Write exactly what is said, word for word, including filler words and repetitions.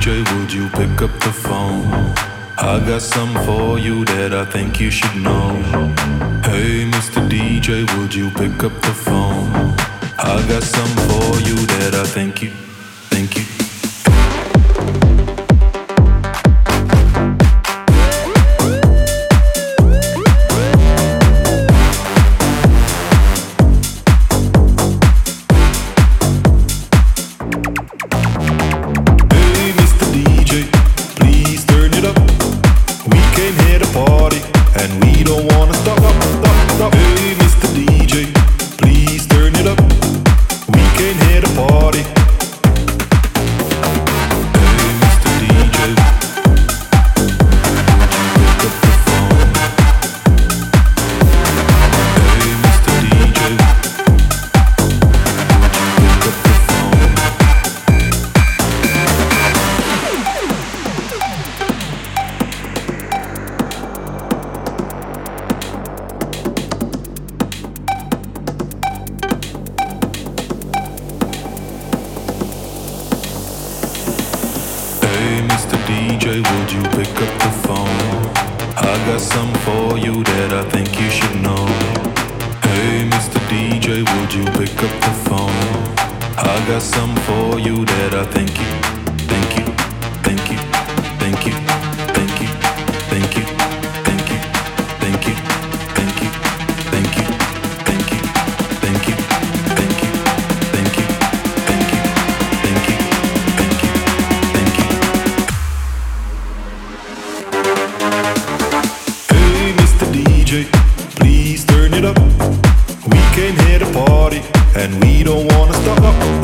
J, would you pick up the phone? I got something for you that I think you should know. Hey, Mister D J, would you pick up the phone? I got something for you that I think you, think you. Would you pick up the phone? I got something for you that I think you should know. Hey, Mister D J, would you pick up the phone? I got something for you that I think you, think you, think you, think you, think you, think you, think you, think you, think you, think you, think you, think you, think you, think you, think you, think you, think you, think you. Hey, Mister D J, please turn it up. We came here to party and we don't wanna stop.